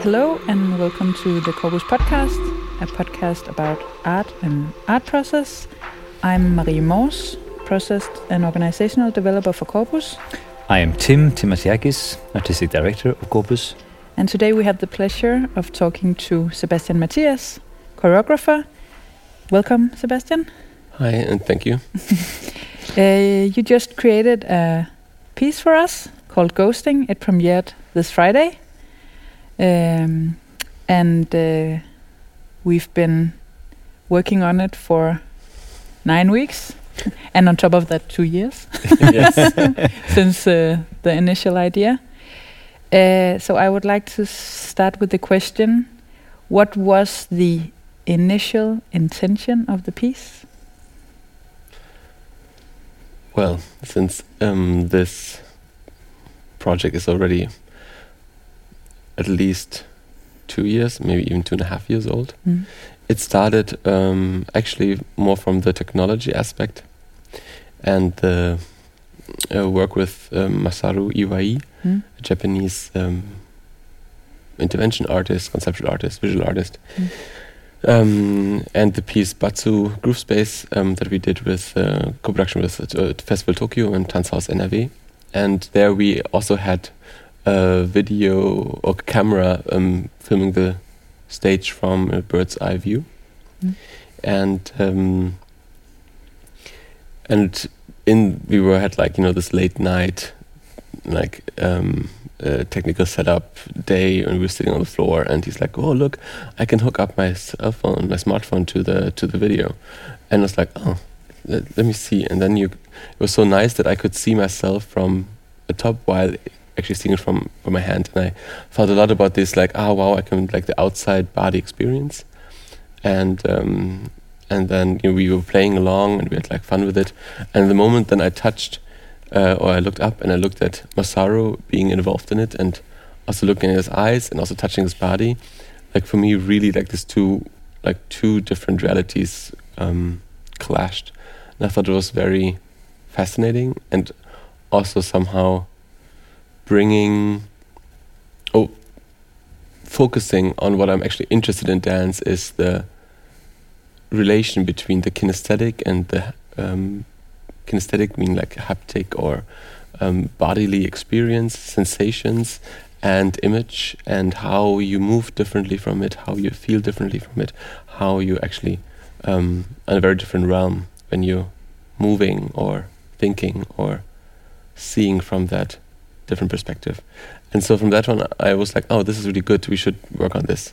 Hello and welcome to the Corpus Podcast, a podcast about art and art process. I'm Marie Mors, process and organizational developer for Corpus. I am Tim Timasiakis, artistic director of Corpus. And today we have the pleasure of talking to Sebastian Matthias, choreographer. Welcome, Sebastian. Hi, and thank you. You just created a piece for us called Ghosting. It premiered this Friday. We've been working on it for 9 weeks. And on top of that, 2 years. Since the initial idea. So I would like to start with the question, what was the initial intention of the piece? Well, since this project is already at least 2 years, maybe even 2.5 years old, it started actually more from the technology aspect and the work with Masaru Iwai, a Japanese intervention artist, conceptual artist, visual artist. And the piece Batsu Groove Space that we did with co-production with Festival Tokyo and Tanzhaus NRW. And there we also had a video or camera filming the stage from a bird's eye view. And we had this late night technical setup day, and we were sitting on the floor, and he's like, "Oh, look, I can hook up my smartphone to the video," and I was like, "Oh, let me see." And then it was so nice that I could see myself from the top while actually seeing it from my hand, and I thought a lot about this, wow, I can the outside body experience, and then we were playing along and we had fun with it, and the moment then I touched. Or I looked up and I looked at Masaru being involved in it, and also looking at his eyes and also touching his body. For me, really, these two different realities clashed, and I thought it was very fascinating, and also somehow focusing on what I'm actually interested in dance is the relation between the kinesthetic and the kinesthetic, mean haptic or bodily experience, sensations, and image, and how you move differently from it, how you feel differently from it, how you actually in a very different realm when you're moving or thinking or seeing from that different perspective. And so from that one, I was like, oh, this is really good, we should work on this.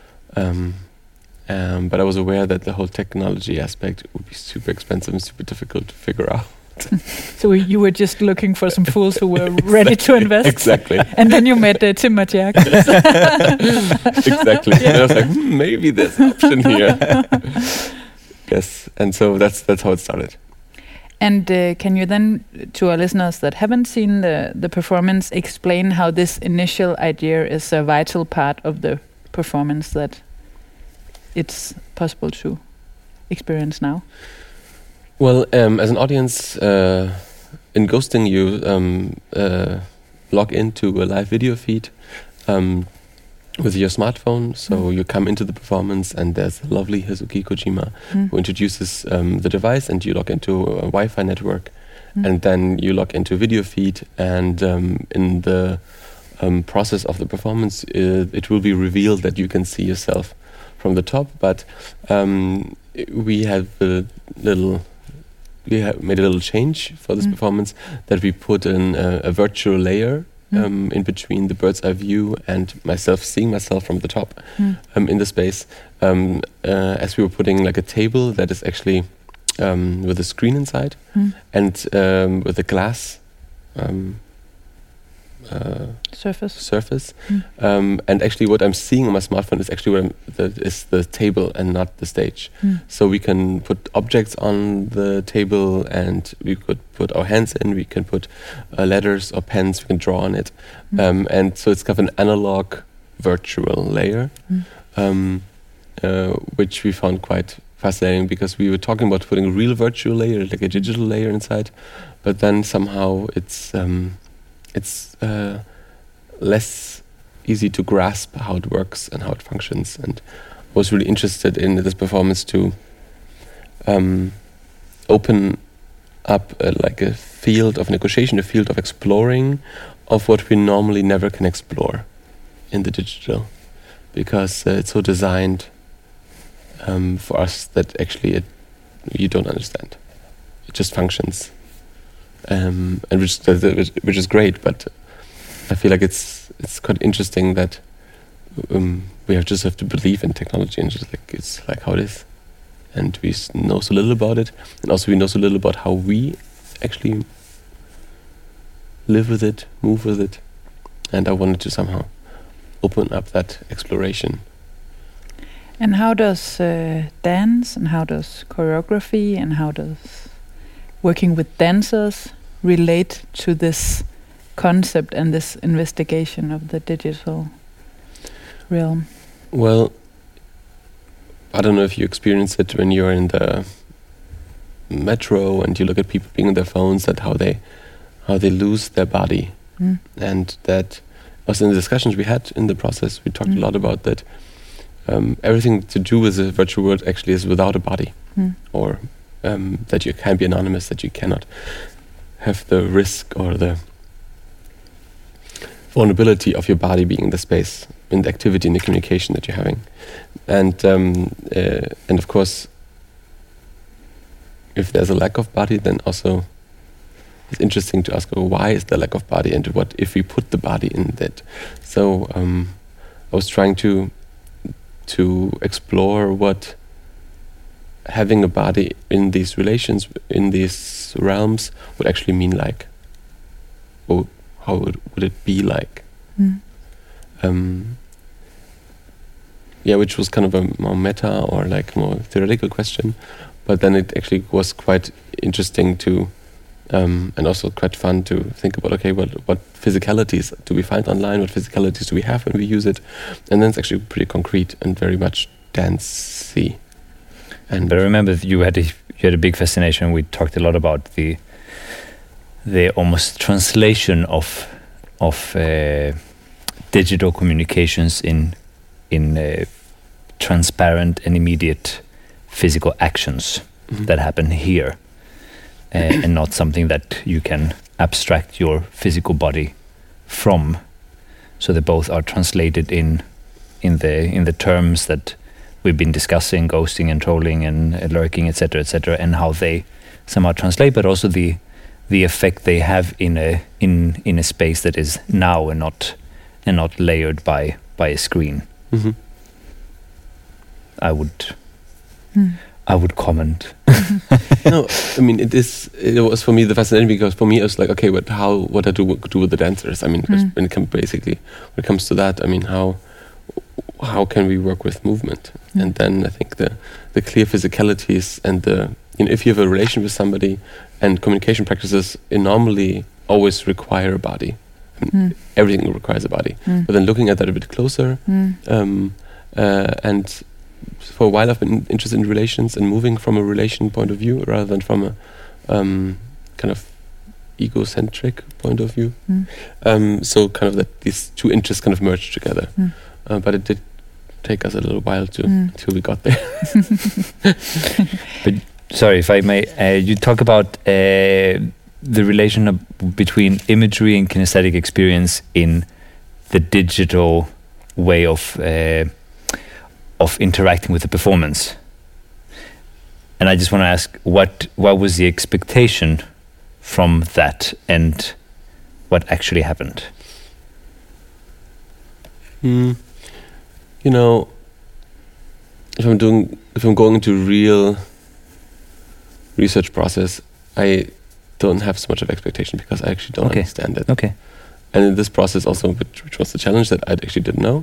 But I was aware that the whole technology aspect would be super expensive and super difficult to figure out. So you were just looking for some fools who were ready to invest? Exactly. And then you met Tim Matthias. Exactly. Yeah. And I was like, maybe there's an option here. Yes. And so that's how it started. And can you then, to our listeners that haven't seen the performance, explain how this initial idea is a vital part of the performance that it's possible to experience now? Well, as an audience, in Ghosting, you log into a live video feed with your smartphone. So you come into the performance, and there's the lovely Hazuki Kojima who introduces the device, and you log into a Wi-Fi network, and then you log into a video feed, and in the process of the performance, it will be revealed that you can see yourself from the top, but we made a little change for this performance, that we put in a virtual layer in between the bird's eye view and myself seeing myself from the top in the space, as we were putting a table that is actually with a screen inside and with a glass surface. And actually what I'm seeing on my smartphone is actually is the table and not the stage. So we can put objects on the table, and we could put our hands in, we can put letters or pens, we can draw on it. And so it's kind of an analog virtual layer, which we found quite fascinating, because we were talking about putting a real virtual layer, a digital layer inside, but then somehow it's less easy to grasp how it works and how it functions. And I was really interested in this performance to open up like a field of negotiation, a field of exploring of what we normally never can explore in the digital, because it's so designed for us that actually you don't understand. It just functions, and which is great. But I feel like it's quite interesting that we just have to believe in technology, and just like it's like how it is, and we know so little about it, and also we know so little about how we actually live with it, move with it, and I wanted to somehow open up that exploration. And how does dance and how does choreography and how does working with dancers relate to this concept and this investigation of the digital realm? Well, I don't know if you experience it when you're in the metro and you look at people being on their phones, that how they lose their body. And that also in the discussions we had in the process, we talked a lot about that. Everything to do with the virtual world actually is without a body, or that you can be anonymous, that you cannot have the risk or the vulnerability of your body being in the space, in the activity, in the communication that you're having. And of course, if there's a lack of body, then also it's interesting to ask, why is there lack of body, and what if we put the body in that? So I was trying to explore what having a body in these relations, in these realms, would actually mean like. Or how would it be like? Which was kind of a more meta or like more theoretical question, but then it actually was quite interesting to, and also quite fun to think about, okay, what physicalities do we find online, what physicalities do we have when we use it, and then it's actually pretty concrete and very much dancey. But I remember you had a big fascination. We talked a lot about the almost translation of digital communications in transparent and immediate physical actions that happen here, and not something that you can abstract your physical body from. So they both are translated in the terms that we've been discussing, ghosting and trolling and lurking, etc., and how they somehow translate, but also the effect they have in a space that is now and not layered by a screen. I would comment. No, I mean it was for me the fascinating, because for me it was like, okay, what I do with the dancers. I mean, when it comes to that, I mean, how can we work with movement? And then I think the clear physicalities and if you have a relation with somebody, and communication practices normally always require a body. I mean, everything requires a body. But then looking at that a bit closer, and for a while I've been interested in relations and moving from a relation point of view rather than from a kind of egocentric point of view. So kind of that these two interests kind of merged together. But it did take us a little while until we got there. But sorry, if I may, you talk about the relation between imagery and kinesthetic experience in the digital way of interacting with the performance. And I just want to ask, what was the expectation from that, and what actually happened? You know, if I'm going into real research process, I don't have so much of expectation, because I actually don't understand it. Okay. And in this process also, which was the challenge, that I actually didn't know,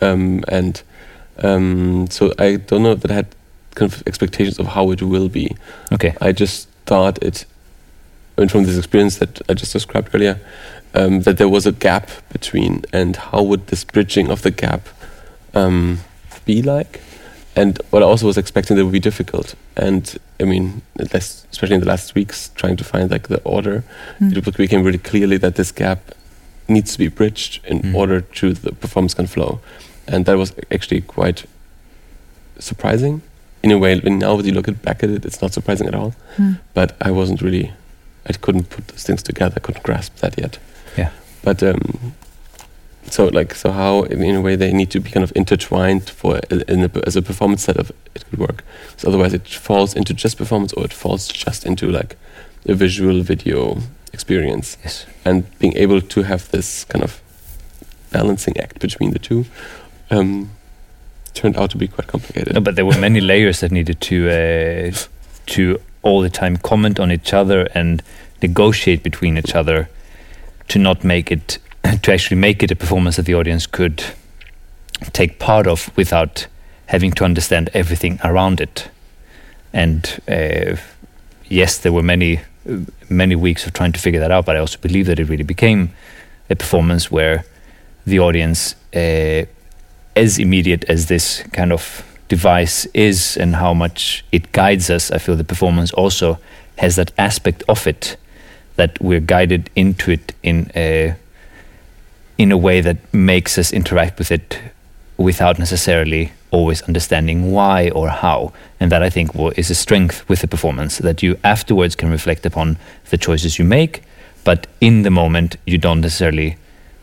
so I don't know that I had kind of expectations of how it will be. Okay. I just thought from this experience that I just described earlier, that there was a gap between, and how would this bridging of the gap be like? And what I also was expecting that would be difficult. And I mean, especially in the last weeks, trying to find like the order, it became really clearly that this gap needs to be bridged in order to the performance can flow. And that was actually quite surprising. In a way, when now when you look back at it, it's not surprising at all. But I couldn't put those things together. I couldn't grasp that yet. Yeah. But so how in a way they need to be kind of intertwined as a performance setup it could work. So otherwise it falls into just performance, or it falls just into like a visual video experience. Yes. And being able to have this kind of balancing act between the two turned out to be quite complicated. No, but there were many layers that needed to all the time comment on each other and negotiate between each other to actually make it a performance that the audience could take part of without having to understand everything around it. And yes, there were many weeks of trying to figure that out, but I also believe that it really became a performance where the audience, as immediate as this kind of device is and how much it guides us, I feel the performance also has that aspect of it that we're guided into it in a way that makes us interact with it without necessarily always understanding why or how. And that I think is a strength with the performance, that you afterwards can reflect upon the choices you make, but in the moment you don't necessarily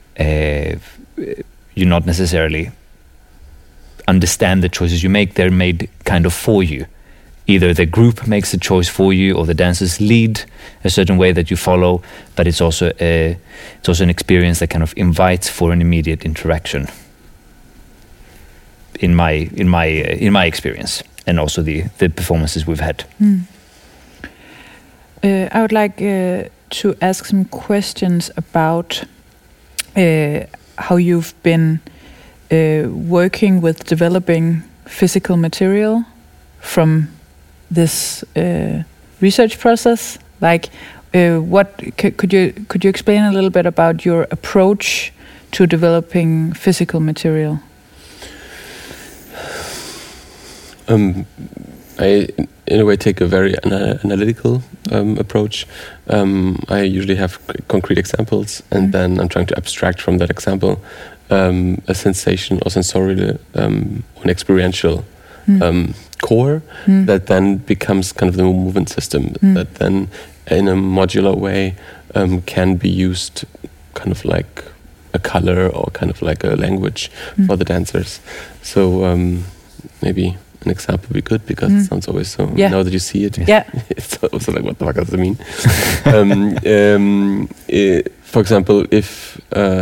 understand the choices you make. They're made kind of for you. Either the group makes a choice for you, or the dancers lead a certain way that you follow. But it's also an experience that kind of invites for an immediate interaction. In my experience, and also the performances we've had. I would like to ask some questions about how you've been working with developing physical material from this research process. Like, could you explain a little bit about your approach to developing physical material? I, in a way, take a very analytical approach. I usually have concrete examples, and then I'm trying to abstract from that example a sensation or sensorial or an experiential core that then becomes kind of the movement system that then, in a modular way, can be used kind of like a color or kind of like a language for the dancers. So maybe an example would be good, because it sounds always so, now that you see it, it's also like, what the fuck does it mean? For example, if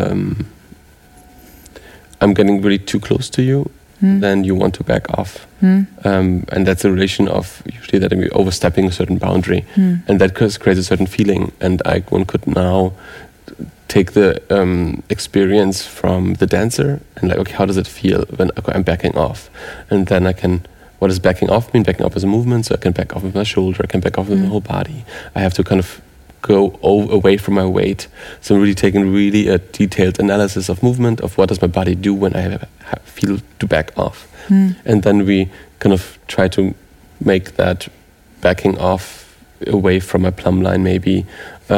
I'm getting really too close to you, then you want to back off. And that's a relation of usually that I'm overstepping a certain boundary. And that creates a certain feeling. And one could now take the experience from the dancer and like, okay, how does it feel when I'm backing off? And then what does backing off mean? Backing off is a movement, so I can back off with my shoulder, I can back off with my whole body. I have to kind of go away from my weight. So I'm really taking really a detailed analysis of movement, of what does my body do when I feel to back off. And then we kind of try to make that backing off away from my plumb line, maybe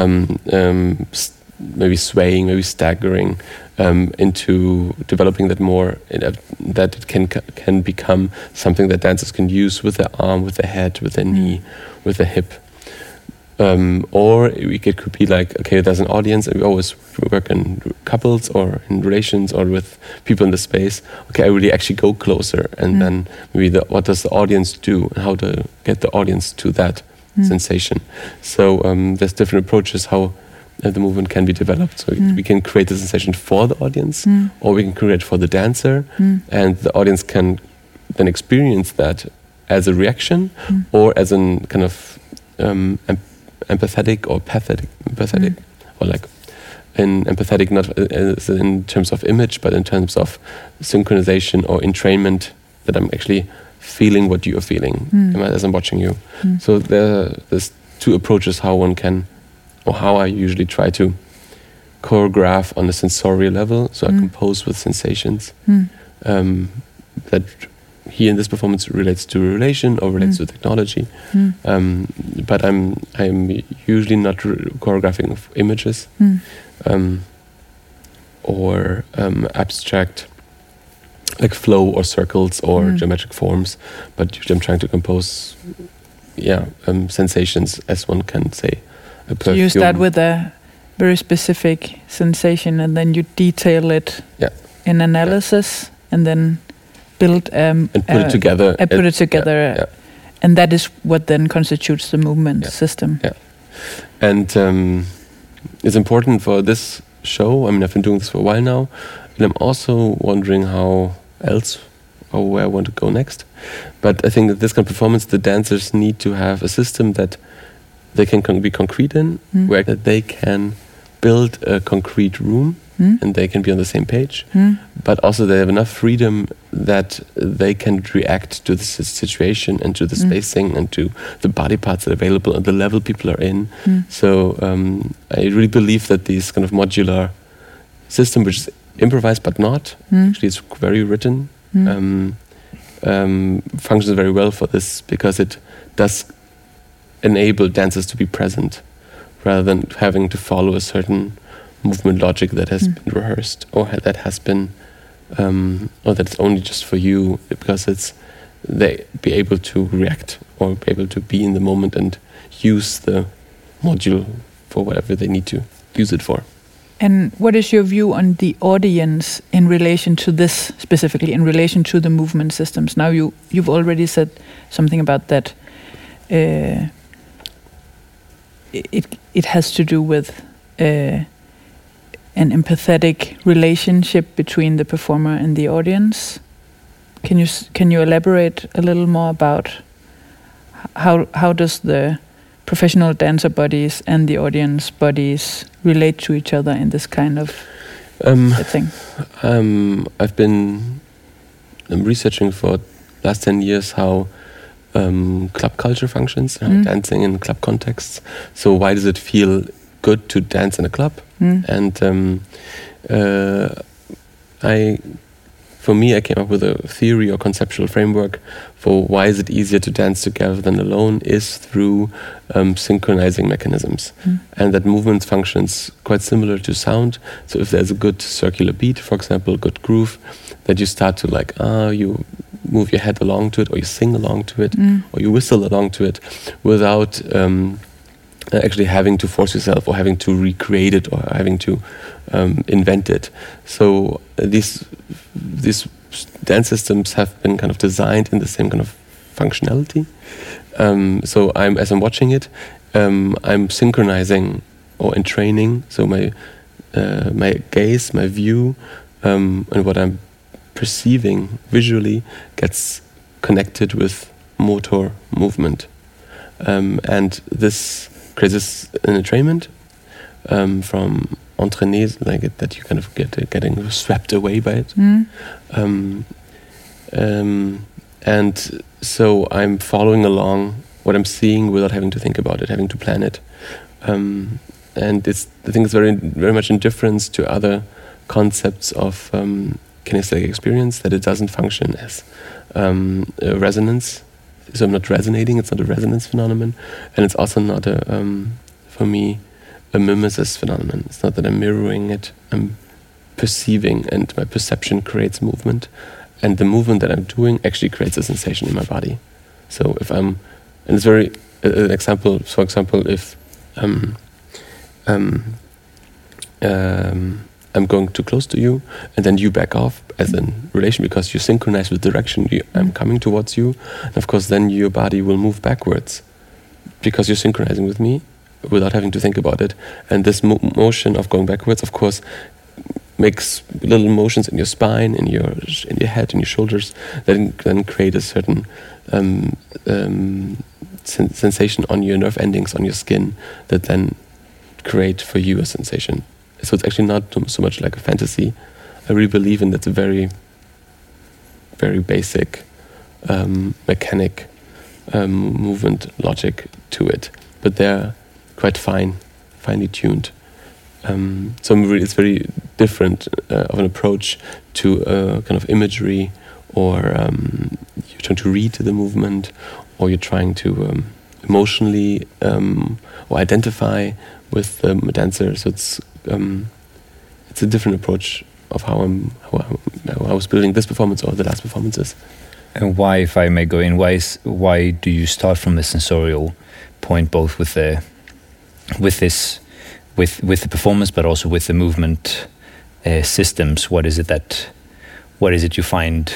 maybe swaying, maybe staggering, into developing that more, that it can become something that dancers can use with their arm, with their head, with their knee, with their hip. Or it could be like, okay, there's an audience, and we always work in couples or in relations or with people in the space. Okay, I really actually go closer, and then maybe what does the audience do, and how to get the audience to that sensation. So there's different approaches how the movement can be developed. So we can create the sensation for the audience, or we can create for the dancer, and the audience can then experience that as a reaction, or as a kind of empathetic or empathetic, or like in empathetic, not in terms of image, but in terms of synchronization or entrainment, that I'm actually feeling what you are feeling as I'm watching you. So there's two approaches how one can, or how I usually try to choreograph on a sensorial level. So I compose with sensations that here in this performance relates to relation or relates to technology. But I'm usually not choreographing of images. or abstract, like flow or circles or geometric forms. But usually I'm trying to compose, sensations, as one can say. A perfume. So you start with a very specific sensation, and then you detail it in analysis, and then build and put it together. And that is what then constitutes the movement system. Yeah, and it's important for this show. I mean, I've been doing this for a while now, and I'm also wondering how else or where I want to go next. But I think that this kind of performance, the dancers need to have a system that they can be concrete in, where that they can build a concrete room and they can be on the same page, but also they have enough freedom that they can react to the situation and to the spacing and to the body parts that are available and the level people are in. So I really believe that this kind of modular system, which is improvised but not, actually it's very written, functions very well for this, because it does enable dancers to be present rather than having to follow a certain movement logic that has been rehearsed or that has been or that's only just for you, because they be able to react or be able to be in the moment and use the module for whatever they need to use it for. And what is your view on the audience in relation to this, specifically in relation to the movement systems? Now you've already said something about that. It has to do with an empathetic relationship between the performer and the audience. Can you elaborate a little more about how does the professional dancer bodies and the audience bodies relate to each other in this kind of thing? I've been researching for the last 10 years how club culture functions, dancing in club contexts. So why does it feel good to dance in a club? And for me, I came up with a theory or conceptual framework for why is it easier to dance together than alone is through synchronizing mechanisms. And that movement functions quite similar to sound. So if there's a good circular beat, for example, a good groove, that you start to you move your head along to it, or you sing along to it, or you whistle along to it without actually having to force yourself or having to recreate it or having to invent it. So these dance systems have been kind of designed in the same kind of functionality. So as I'm watching it, I'm synchronizing or entraining. So my gaze, my view, and what I'm perceiving visually gets connected with motor movement, and this creates an entrainment from entraîner, like that you kind of getting swept away by it. And so I'm following along what I'm seeing without having to think about it, having to plan it. And I think it's very, very much in difference to other concepts of kinesthetic experience, that it doesn't function as a resonance. So I'm not resonating, it's not a resonance phenomenon. And it's also not for me, a mimesis phenomenon. It's not that I'm mirroring it, I'm perceiving, and my perception creates movement. And the movement that I'm doing actually creates a sensation in my body. So if and it's very, an example, for example, if I'm going too close to you, and then you back off as in relation, because you synchronize with direction. I'm coming towards you, and of course then your body will move backwards because you're synchronizing with me without having to think about it. And this motion of going backwards, of course, makes little motions in your spine, in your head, in your shoulders, that then create a certain sensation on your nerve endings, on your skin, that then create for you a sensation. So it's actually not so much like a fantasy. I really believe in that very, very basic mechanic movement logic to it, but they're quite finely tuned. So it's very different of an approach to kind of imagery, or you're trying to read the movement, or you're trying to emotionally or identify with the dancer. So it's it's a different approach of how I was building this performance or the last performances. And why, if I may go in, why do you start from the sensorial point, both with the performance, but also with the movement systems? What is it you find?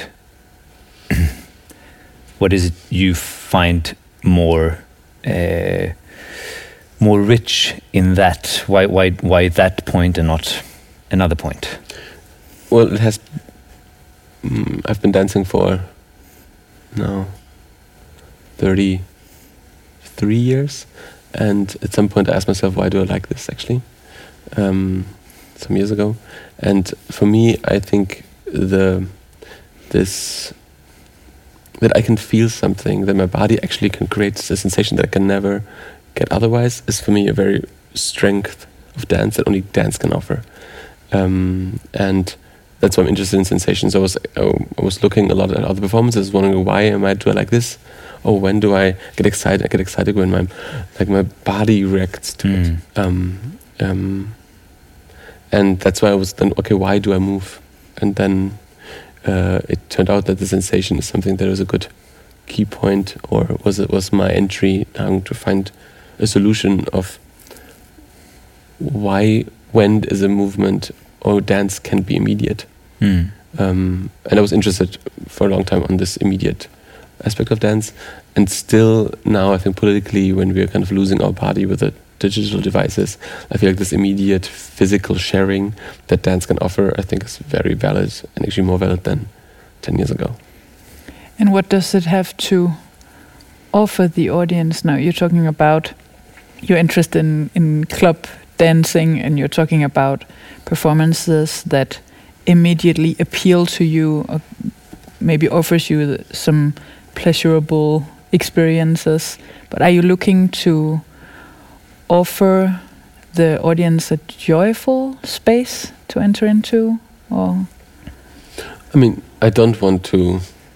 What is it you find more rich in that? Why that point and not another point? Well, it has. I've been dancing for now 33 years, and at some point I asked myself, why do I like this actually? Some years ago, and for me, I think that I can feel something, that my body actually can create a sensation that I can never get otherwise, is for me a very strength of dance that only dance can offer. And that's why I'm interested in sensations. I was looking a lot at other performances, wondering why do I like this? Or when do I get excited? I get excited when my body reacts to it. And that's why I was then, okay, why do I move? And then it turned out that the sensation is something that was a good key point, or was my entry to find a solution of when is a movement or dance can be immediate. And I was interested for a long time on this immediate aspect of dance, and still now I think politically, when we're kind of losing our body with the digital devices, I feel like this immediate physical sharing that dance can offer, I think is very valid, and actually more valid than 10 years ago. And what does it have to offer the audience now? You're talking about your interest in club dancing, and you're talking about performances that immediately appeal to you, or maybe offers you some pleasurable experiences. But are you looking to offer the audience a joyful space to enter into? Or I mean, I don't want to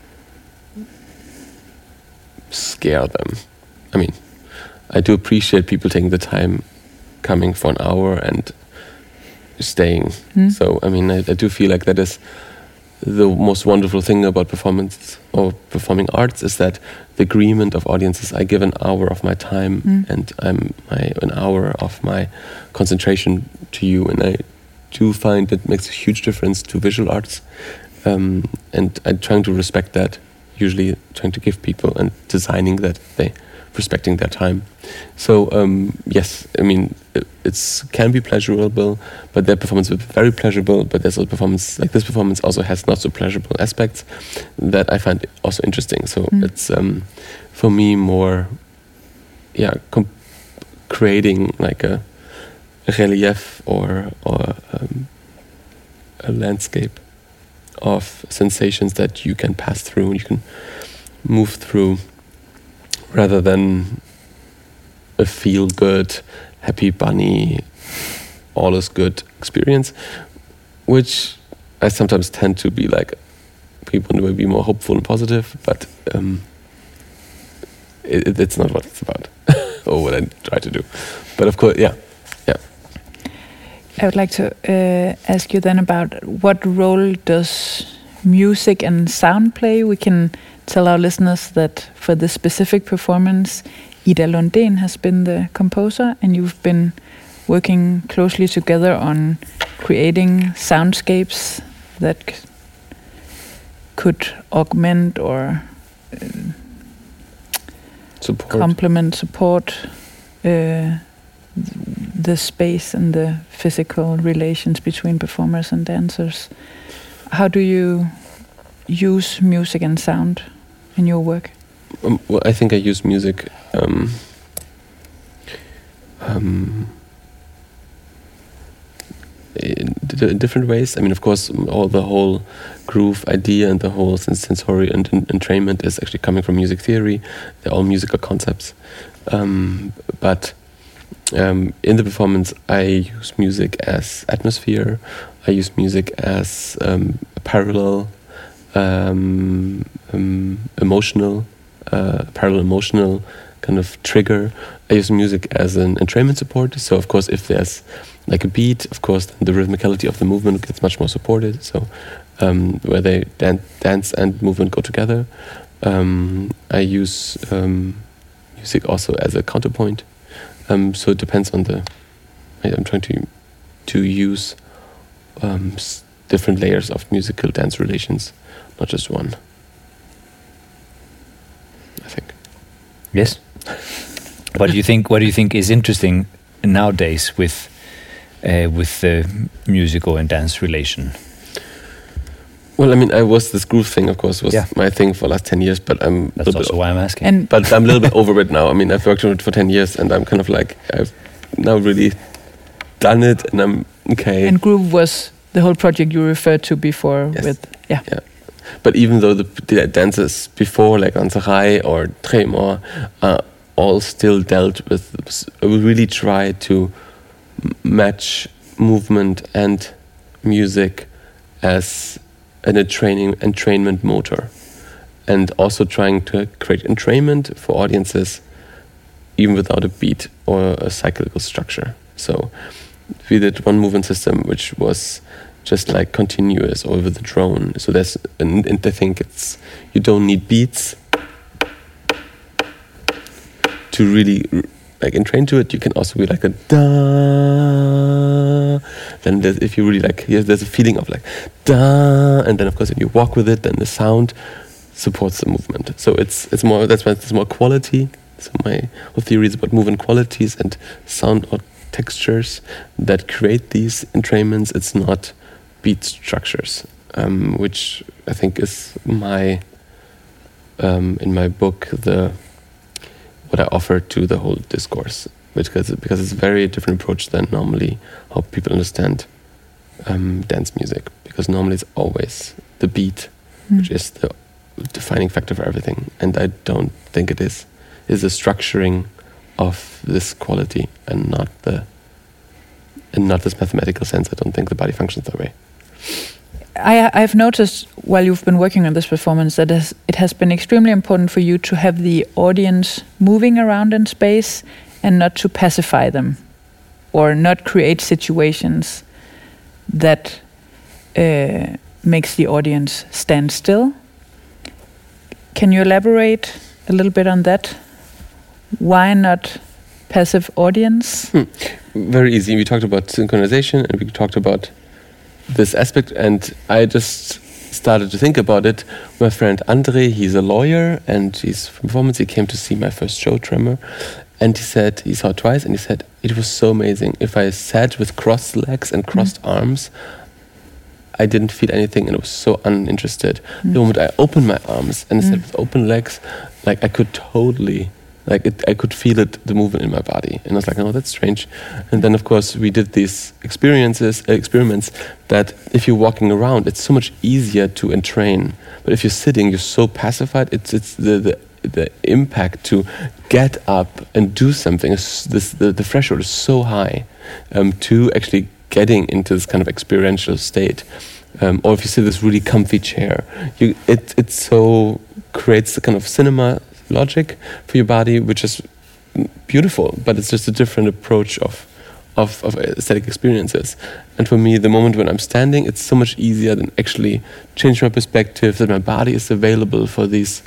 scare them. I mean, I do appreciate people taking the time coming for an hour and staying. So, I mean, I do feel like that is the most wonderful thing about performance or performing arts, is that the agreement of audiences, I give an hour of my time and an hour of my concentration to you, and I do find it makes a huge difference to visual arts, and I'm trying to respect that, usually trying to give people and designing that they respecting their time. So yes, I mean, it can be pleasurable, but their performance will be very pleasurable, but there's a performance like this performance also has not so pleasurable aspects that I find also interesting. So it's for me more creating like a relief or a landscape of sensations that you can pass through, you can move through, rather than a feel-good, happy bunny, all is good experience, which I sometimes tend to be like, people will be more hopeful and positive, but it's not what it's about, or what I try to do. But of course, yeah. I would like to ask you then about what role does music and sound play? We can tell our listeners that for this specific performance, Ida Lundén has been the composer, and you've been working closely together on creating soundscapes that could augment or support the space and the physical relations between performers and dancers. How do you use music and sound in your work? Well, I think I use music in different ways. I mean, of course, the whole groove idea and the whole sensory entrainment is actually coming from music theory. They're all musical concepts. But in the performance, I use music as atmosphere. I use music as a parallel emotional kind of trigger. I use music as an entrainment support. So of course, if there's like a beat, of course, then the rhythmicality of the movement gets much more supported. So where they dance and movement go together. I use music also as a counterpoint. So it depends on I'm trying to use different layers of musical dance relations, not just one. I think. Yes. What do you think is interesting nowadays with the musical and dance relation? Well, I mean, this groove thing, of course, was my thing for the last 10 years, but That's also why I'm asking. But I'm a little bit over it now. I mean, I've worked on it for 10 years, and I'm kind of like, I've now really done it, and I'm okay. And groove was the whole project you referred to before. Yes. Yeah. But even though the dances before, like Ansarai or Tremor, are all still dealt with, I would really try to match movement and music as an entrainment motor, and also trying to create entrainment for audiences even without a beat or a cyclical structure. So we did one movement system which was just like continuous over the drone. So and I think you don't need beats to really like entrain to it. You can also be like a da. Then if you really like, there's a feeling of like da, and then of course if you walk with it, then the sound supports the movement. So it's more, that's why it's more quality. So my whole theory is about movement qualities and sound or textures that create these entrainments. It's not beat structures, which I think is my in my book what I offer to the whole discourse, because it's a very different approach than normally how people understand dance music. Because normally it's always the beat, which is the defining factor for everything, and I don't think it is. It's the structuring of this quality and not this mathematical sense. I don't think the body functions that way. I've noticed while you've been working on this performance that it has been extremely important for you to have the audience moving around in space and not to pacify them or not create situations that makes the audience stand still. Can you elaborate a little bit on that? Why not passive audience? Very easy. We talked about synchronization and we talked about this aspect, and I just started to think about it. My friend Andre, he's a lawyer and he's from performance. He came to see my first show, Tremor, and he saw it twice, and he said it was so amazing. If I sat with crossed legs and crossed arms, I didn't feel anything, and I was so uninterested. The moment I opened my arms and sat with open legs, like I could totally, I could feel it, the movement in my body, and I was like, oh, that's strange. And then, of course, we did these experiments that if you're walking around, it's so much easier to entrain. But if you're sitting, you're so pacified. It's the impact to get up and do something. The threshold is so high to actually getting into this kind of experiential state. Or if you sit in this really comfy chair, it so creates the kind of cinema logic for your body, which is beautiful, but it's just a different approach of aesthetic experiences. And for me, the moment when I'm standing, it's so much easier than actually change my perspective, that my body is available for these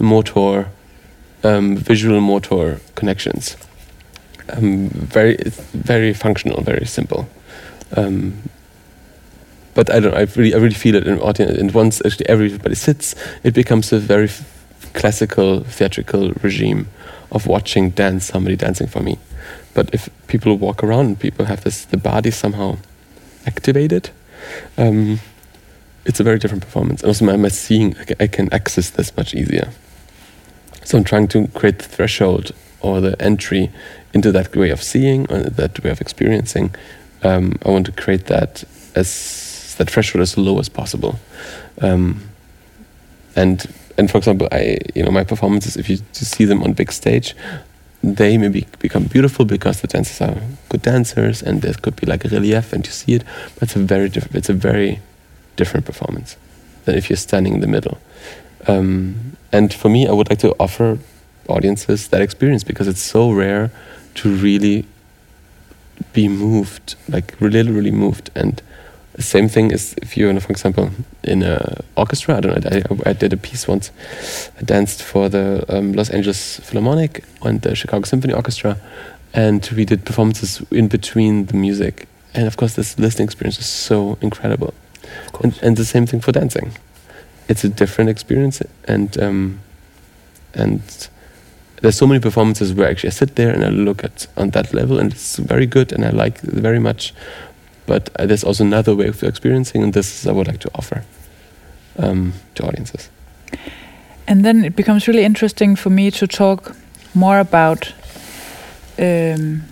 visual motor connections. It's very functional, very simple. But I don't know, I really feel it in the audience, and once actually everybody sits, it becomes a very classical theatrical regime of watching somebody dancing for me. But if people walk around and people have the body somehow activated, it's a very different performance. And also my seeing, I can access this much easier. So I'm trying to create the threshold or the entry into that way of seeing, or that way of experiencing. I want to create that threshold as low as possible. And for example, my performances, if you see them on big stage, they maybe become beautiful because the dancers are good dancers, and there could be like a relief and you see it, but it's a very different performance than if you're standing in the middle. And for me, I would like to offer audiences that experience, because it's so rare to really be moved, like really moved. And the same thing is if you're, for example, in an orchestra. I don't know. I did a piece once. I danced for the Los Angeles Philharmonic and the Chicago Symphony Orchestra, and we did performances in between the music. And of course, this listening experience is so incredible. And the same thing for dancing. It's a different experience, and there's so many performances where actually I sit there and I look at on that level, and it's very good, and I like it very much. But there's also another way of experiencing, and this I would like to offer to audiences. And then it becomes really interesting for me to talk more about the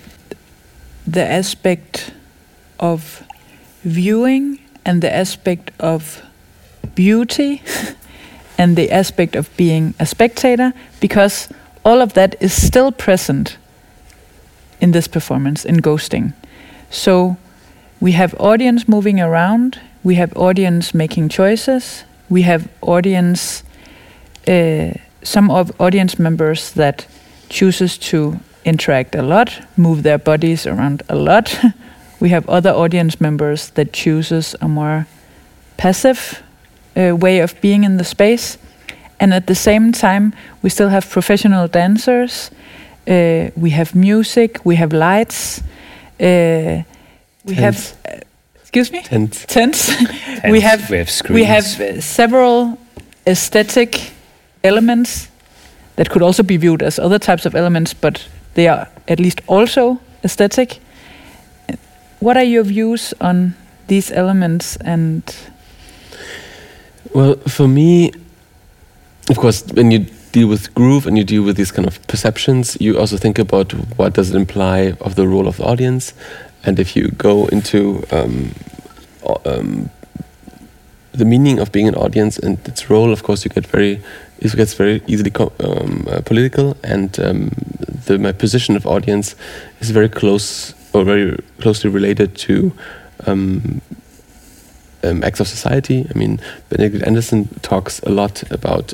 aspect of viewing and the aspect of beauty and the aspect of being a spectator, because all of that is still present in this performance, in Ghosting. So we have audience moving around, we have audience making choices, we have audience, some of audience members that chooses to interact a lot, move their bodies around a lot. We have other audience members that chooses a more passive way of being in the space. And at the same time, we still have professional dancers, we have music, we have lights, we have... excuse me? Tents. We have screens. We have several aesthetic elements that could also be viewed as other types of elements, but they are at least also aesthetic. What are your views on these elements? And well, for me, of course, when you deal with groove and you deal with these kind of perceptions, you also think about what does it imply of the role of the audience. And if you go into the meaning of being an audience and its role, of course, it gets very easily political. And my position of audience is very close or very closely related to acts of society. I mean, Benedict Anderson talks a lot about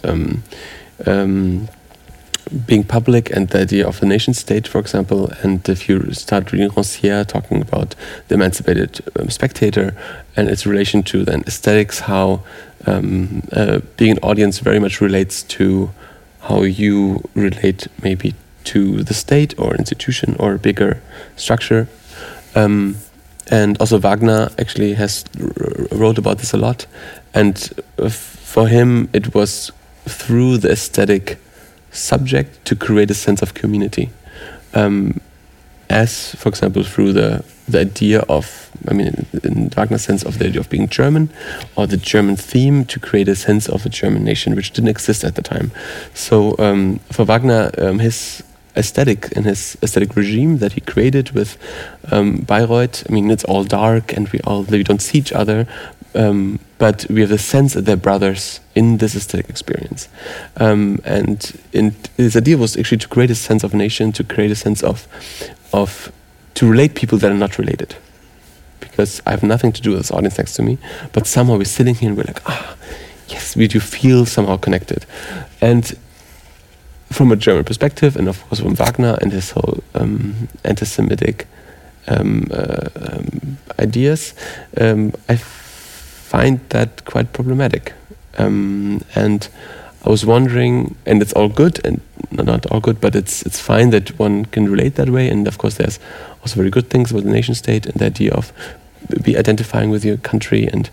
being public and the idea of the nation state, for example. And if you start reading Rancière talking about the emancipated spectator and its relation to then aesthetics, how being an audience very much relates to how you relate maybe to the state or institution or a bigger structure. And also Wagner actually wrote about this a lot. And for him, it was through the aesthetic subject to create a sense of community. As, for example, through the idea of, I mean, in Wagner's sense of the idea of being German, or the German theme to create a sense of a German nation, which didn't exist at the time. So for Wagner, his aesthetic and his aesthetic regime that he created with Bayreuth, I mean, it's all dark and we don't see each other, but we have the sense that they're brothers in this aesthetic experience. And his idea was actually to create a sense of nation, to create a sense of to relate people that are not related. Because I have nothing to do with this audience next to me, but somehow we're sitting here and we're like, yes, we do feel somehow connected. And from a German perspective, and of course from Wagner and his whole anti-Semitic ideas, I find that quite problematic. And I was wondering, and it's all good, and not all good, but it's fine that one can relate that way. And of course, there's also very good things about the nation state and the idea of be identifying with your country and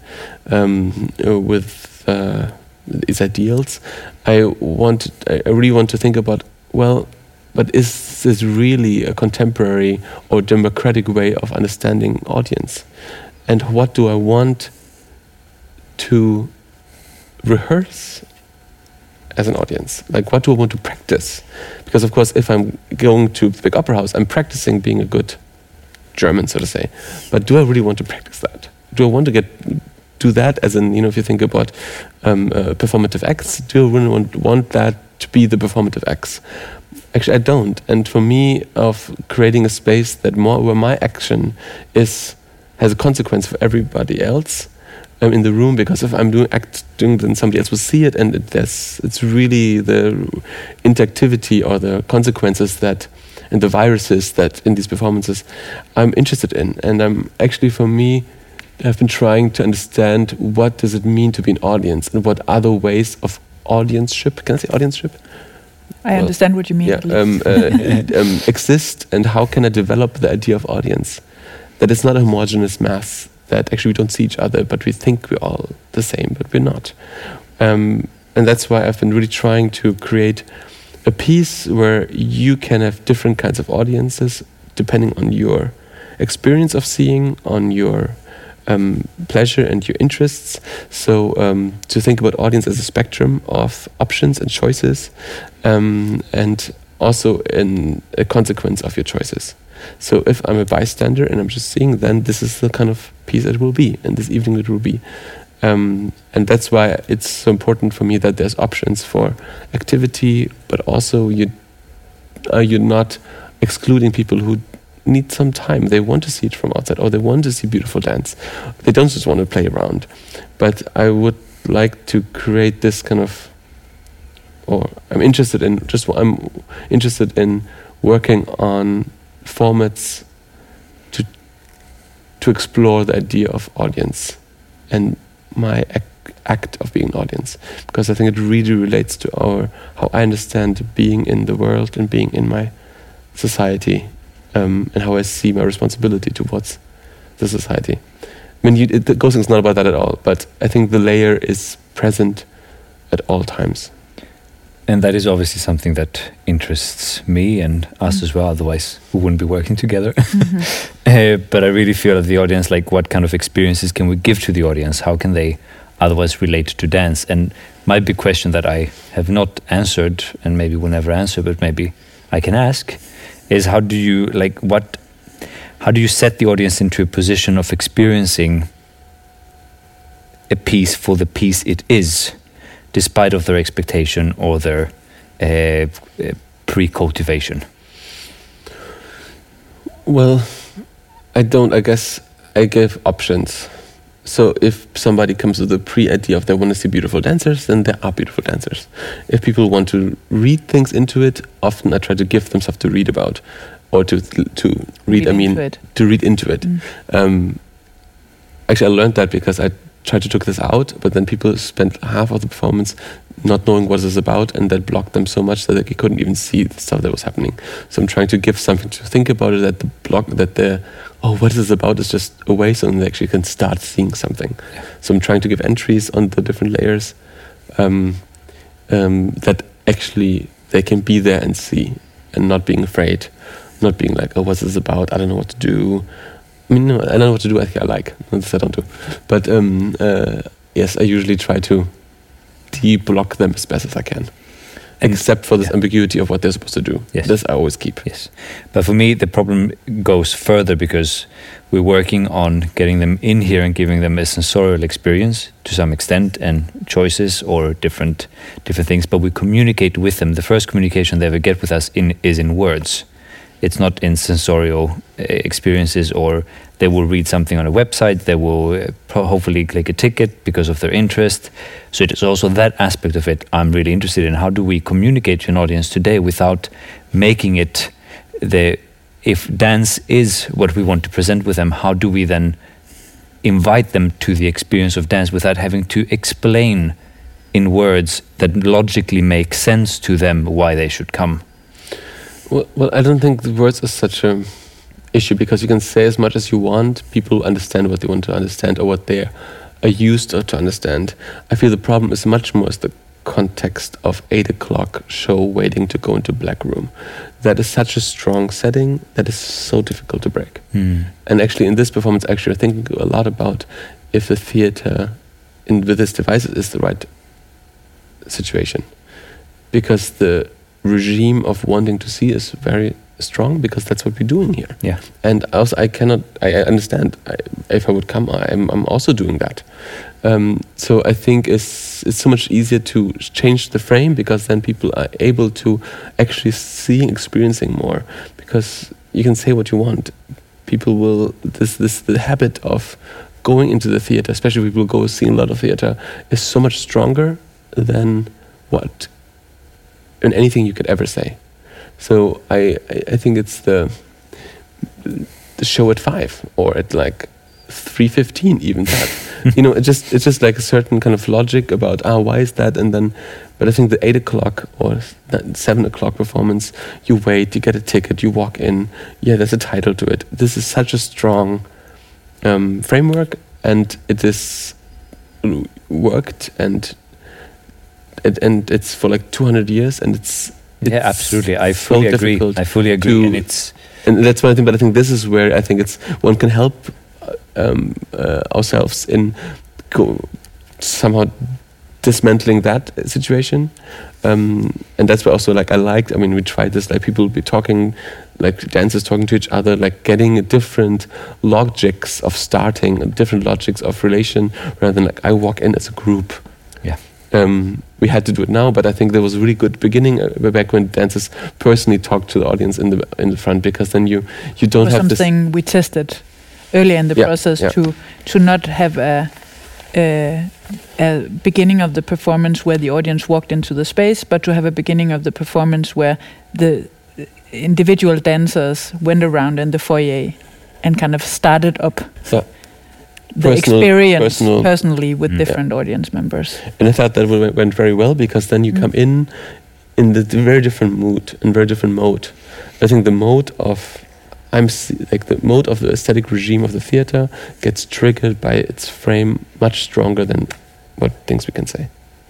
with its ideals. I really want to think about, well, but is this really a contemporary or democratic way of understanding audience? And what do I want to rehearse as an audience? Like, what do I want to practice? Because, of course, if I'm going to the Big Opera House, I'm practicing being a good German, so to say. But do I really want to practice that? Do I want to do that as in, if you think about performative acts, do I really want that to be the performative acts? Actually, I don't. And for me, of creating a space that where my action has a consequence for everybody else, in the room, because if I'm acting, then somebody else will see it, and it's really the interactivity or the consequences that, and the viruses that in these performances I'm interested in. And I'm actually, for me, I've been trying to understand what does it mean to be an audience, and what other ways of audienceship, can I say audienceship? I understand what you mean. Yeah, exist, and how can I develop the idea of audience? That it's not a homogeneous mass, that actually we don't see each other, but we think we're all the same, but we're not. And that's why I've been really trying to create a piece where you can have different kinds of audiences depending on your experience of seeing, on your pleasure and your interests. So to think about audience as a spectrum of options and choices, and also in a consequence of your choices. So if I'm a bystander and I'm just seeing, then this is the kind of piece it will be, and this evening it will be. And that's why it's so important for me that there's options for activity, but also you're not excluding people who need some time. They want to see it from outside, or they want to see beautiful dance. They don't just want to play around. But I would like to create this kind of, or I'm interested in working on formats to explore the idea of audience and my act of being an audience, because I think it really relates to how I understand being in the world and being in my society, and how I see my responsibility towards the society. I mean, the Ghosting is not about that at all, but I think the layer is present at all times. And that is obviously something that interests me and us as well, otherwise we wouldn't be working together. But I really feel that the audience, like, what kind of experiences can we give to the audience? How can they otherwise relate to dance? And my big question that I have not answered, and maybe will never answer, but maybe I can ask, is how do you set the audience into a position of experiencing a piece for the piece it is, despite of their expectation or their pre-cultivation? Well, I guess I give options. So if somebody comes with a pre-idea of they want to see beautiful dancers, then there are beautiful dancers. If people want to read things into it, often I try to give them stuff to read about, or to read into it. Actually, I learned that because I tried to take this out, but then people spent half of the performance not knowing what it's about, and that blocked them so much that they couldn't even see the stuff that was happening. So I'm trying to give something to think about it, what is this about is just away, so they actually can start seeing something. Yeah. So I'm trying to give entries on the different layers that actually they can be there and see, and not being afraid, not being like, oh, what's this about? I don't know what to do. I mean, no, I don't know what to do. I think I like. This I don't do. But yes, I usually try to de-block them as best as I can. Except for this ambiguity of what they're supposed to do. Yes. This I always keep. Yes. But for me, the problem goes further, because we're working on getting them in here and giving them a sensorial experience to some extent, and choices or different things. But we communicate with them. The first communication they ever get with us is in words. It's not in sensorial experiences, or they will read something on a website, they will hopefully click a ticket because of their interest. So it is also that aspect of it I'm really interested in. How do we communicate to an audience today without making it if dance is what we want to present with them, how do we then invite them to the experience of dance without having to explain in words that logically make sense to them why they should come? Well, I don't think the words are such an issue, because you can say as much as you want. People understand what they want to understand, or what they are used to understand. I feel the problem is much more as the context of 8 o'clock show waiting to go into black room. That is such a strong setting that is so difficult to break. And actually in this performance, I think a lot about if the theater with its devices is the right situation. Because the regime of wanting to see is very strong, because that's what we're doing here. Yeah. And also I understand, if I would come, I'm also doing that. So I think it's so much easier to change the frame, because then people are able to actually see and experiencing more, because you can say what you want. People will, the habit of going into the theater, especially if people go see a lot of theater, is so much stronger than anything you could ever say. So I think it's the show at 5 or at like 3:15 even that. It's just like a certain kind of logic about why is that, and then but I think the 8 o'clock or 7 o'clock performance, you wait, you get a ticket, you walk in, there's a title to it. This is such a strong framework, and it is worked, and it's for like 200 years, and it's absolutely. I fully agree. And that's one thing. But I think this is where I think one can help ourselves in somehow dismantling that situation, and that's why also like we tried this, like people would be talking, like dancers talking to each other, like getting different logics of starting, different logics of relation, rather than like I walk in as a group. We had to do it now, but I think there was a really good beginning back when dancers personally talked to the audience in the front, because then you don't have something we tested earlier in the process to not have a beginning of the performance where the audience walked into the space, but to have a beginning of the performance where the individual dancers went around in the foyer and kind of started up the experience personally with different audience members. And I thought that went very well, because then you come in the very different mood and very different mode. I think the mode of the aesthetic regime of the theater gets triggered by its frame much stronger than what things we can say.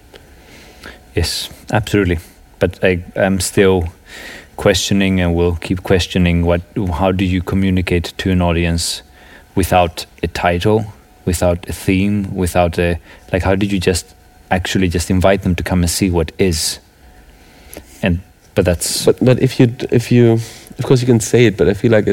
Yes, absolutely. But I'm still questioning, and will keep questioning, how do you communicate to an audience without a title, without a theme, without how did you just invite them to come and see what is? But if you of course you can say it, but I feel like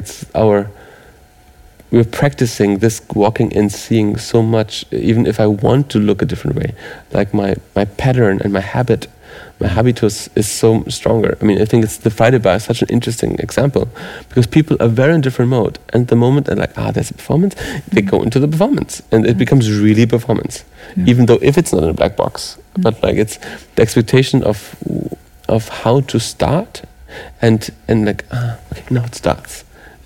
we're practicing this walking in, seeing so much, even if I want to look a different way, like my pattern and my habitus is so stronger. I mean, I think the Friday bar is such an interesting example, because people are very in different mode, and the moment they're like, there's a performance, they go into the performance, and it becomes really performance, even though if it's not in a black box, but like it's the expectation of how to start, and like okay, now it starts.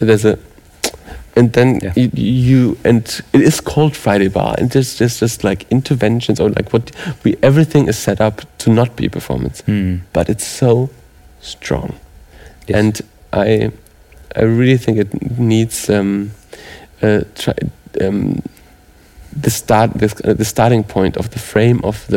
And then and it is called Friday bar, and there's just like interventions, or like everything is set up to not be a performance, but it's so strong. Yes. And I really think it needs the starting point of the frame of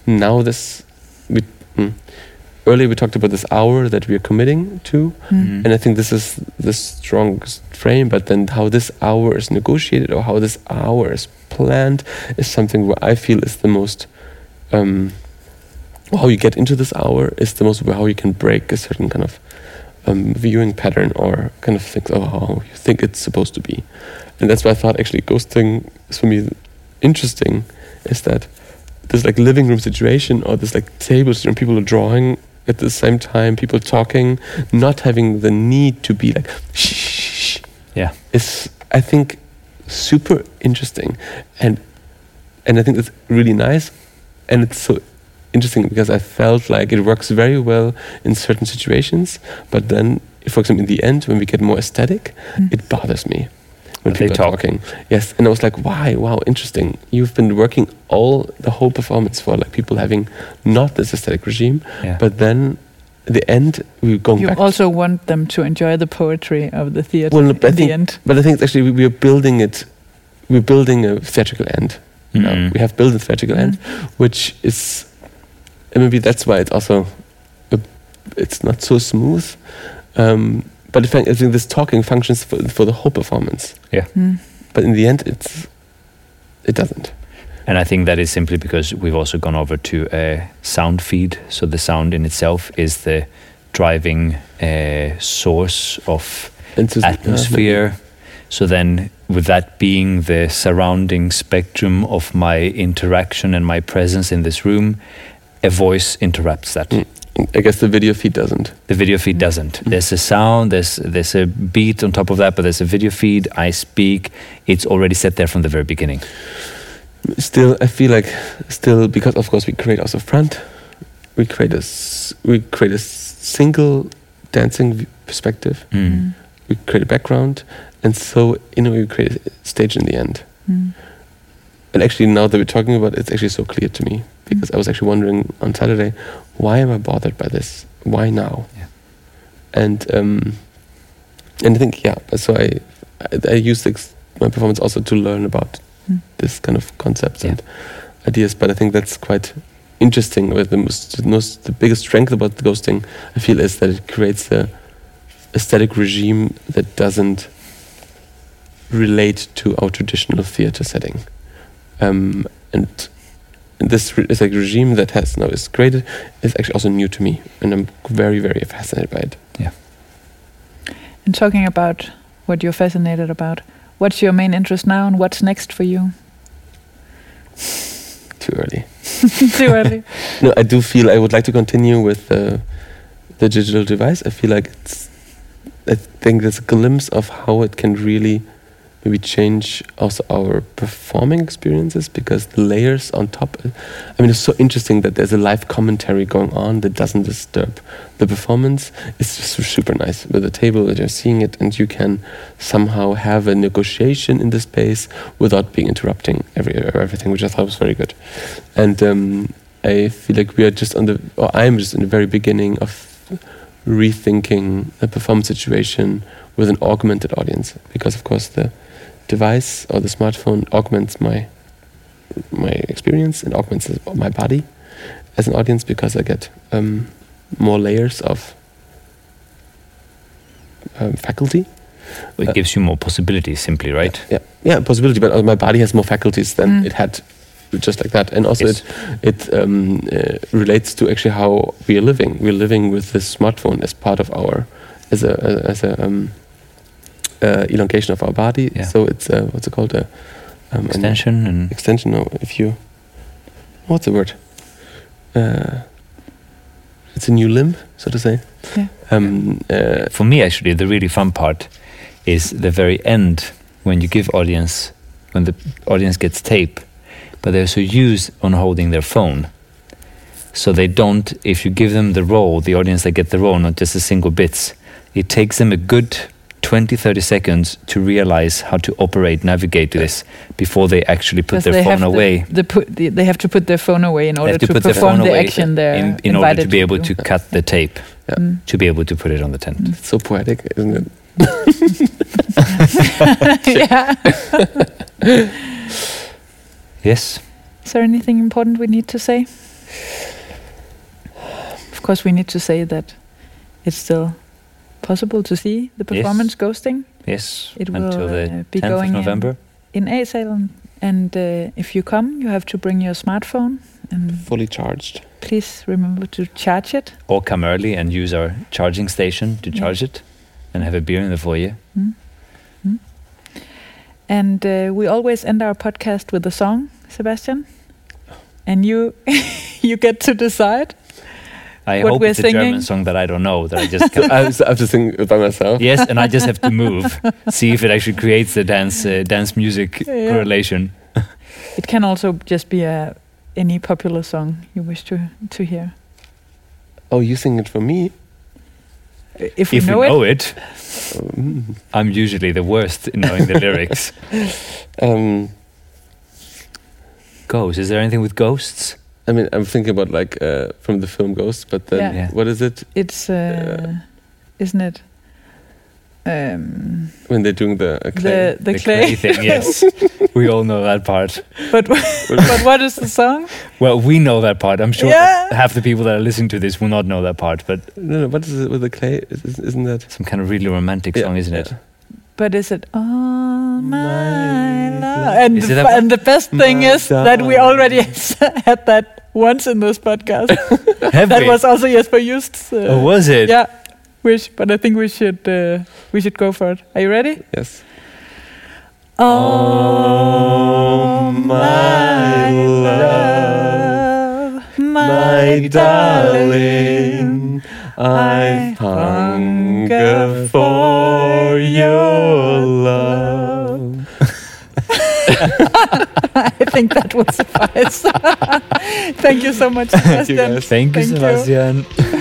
earlier we talked about this hour that we are committing to, and I think this is the strongest frame, but then how this hour is negotiated, or how this hour is planned, is something where I feel is the most how you get into this hour is the most how you can break a certain kind of viewing pattern, or kind of think how you think it's supposed to be. And that's why I thought actually ghosting is for me interesting, is that this like living room situation, or this like tables and people are drawing at the same time, people talking, not having the need to be like shh, is I think super interesting, and I think it's really nice, and it's so interesting because I felt like it works very well in certain situations, but then, for example, in the end when we get more aesthetic, it bothers me when people are talking. Yes, and I was like, why? Wow, interesting. You've been working the whole performance for like people having not this aesthetic regime, but then at the end we're going back. You also want them to enjoy the poetry of the theater the end. But I think it's actually we're building it. We're building a theatrical end. We have built a theatrical end, which is, and maybe that's why it's also it's not so smooth. But I think this talking functions for the whole performance. Yeah. But in the end, it doesn't. And I think that is simply because we've also gone over to a sound feed. So the sound in itself is the driving source of atmosphere. So then, with that being the surrounding spectrum of my interaction and my presence in this room, a voice interrupts that. I guess the video feed doesn't. The video feed doesn't. There's a sound, there's a beat on top of that, but there's a video feed. I speak. It's already set there from the very beginning. Still, I feel like because of course we create also front, we create a single dancing perspective. We create a background, and so in a way we create a stage in the end. And actually, now that we're talking about it, it's actually so clear to me, because I was actually wondering on Saturday, why am I bothered by this? Why now? Yeah. And I think so I used my performance also to learn about this kind of concepts and ideas. But I think that's quite interesting. With the biggest strength about the ghosting, I feel, is that it creates a aesthetic regime that doesn't relate to our traditional theater setting. And this is like regime that is created is actually also new to me, and I'm very, very fascinated by it. Yeah. And talking about what you're fascinated about, what's your main interest now, and what's next for you? Too early. Too early. No, I do feel I would like to continue with the digital device. I feel like I think there's a glimpse of how it can really maybe change also our performing experiences, because the layers on top, I mean, it's so interesting that there's a live commentary going on that doesn't disturb the performance. It's just super nice with the table that you're seeing it, and you can somehow have a negotiation in the space without being interrupting everything, which I thought was very good. And I feel like I'm just in the very beginning of rethinking a performance situation with an augmented audience, because of course the device or the smartphone augments my experience and augments my body as an audience, because I get more layers of faculty. It gives you more possibilities, simply, right? Yeah, possibility, but my body has more faculties than it had just like that. And also it relates to actually how we are living. We're living with this smartphone as part of our, as a elongation of our body. Yeah. So it's what's it called? Extension. Extension. No, what's the word? It's a new limb, so to say. Yeah. For me, actually, the really fun part is the very end, when the audience gets tape, but they're so used on holding their phone. So they don't, if you give them the role, the audience that get the role, not just the single bits, it takes them a good 20-30 seconds to realize how to navigate this before they actually put their phone away. They have to put their phone away in order to perform the action they're in order to be able do. to cut the tape, to be able to put it on the tent. It's so poetic, isn't it? Yeah. Yes. Is there anything important we need to say? Of course, we need to say that it's still possible to see the performance Ghosting. Yes. It until will the be 10th going of November. In A-Salen. And if you come, you have to bring your smartphone and fully charged. Please remember to charge it. Or come early and use our charging station to charge it, and have a beer in the foyer. And we always end our podcast with a song, Sebastian. And you get to decide. I what hope we're it's a singing. German song that I don't know, that I just can't. I have to sing it by myself. Yes, and I just have to move, see if it actually creates the dance music correlation. It can also just be any popular song you wish to hear. Oh, you sing it for me? If we know it. I'm usually the worst in knowing the lyrics. Ghosts. Is there anything with ghosts? I mean, I'm thinking about like from the film Ghost, but then what is it? It's isn't it? When they're doing the clay. The clay thing, yes. We all know that part. But what is the song? Well, we know that part. I'm sure half the people that are listening to this will not know that part. But no, what is it with the clay? Isn't that some kind of really romantic song, isn't it? But is it All My Love? And the best thing is that we already had that once in this podcast. That was also Jesper Just's. Oh, was it? Yeah. But I think we should go for it. Are you ready? Yes. Oh, my love, my darling, I hunger for your love. I think that will suffice. Thank you so much, Sebastian. guys. Thank you, Sebastian.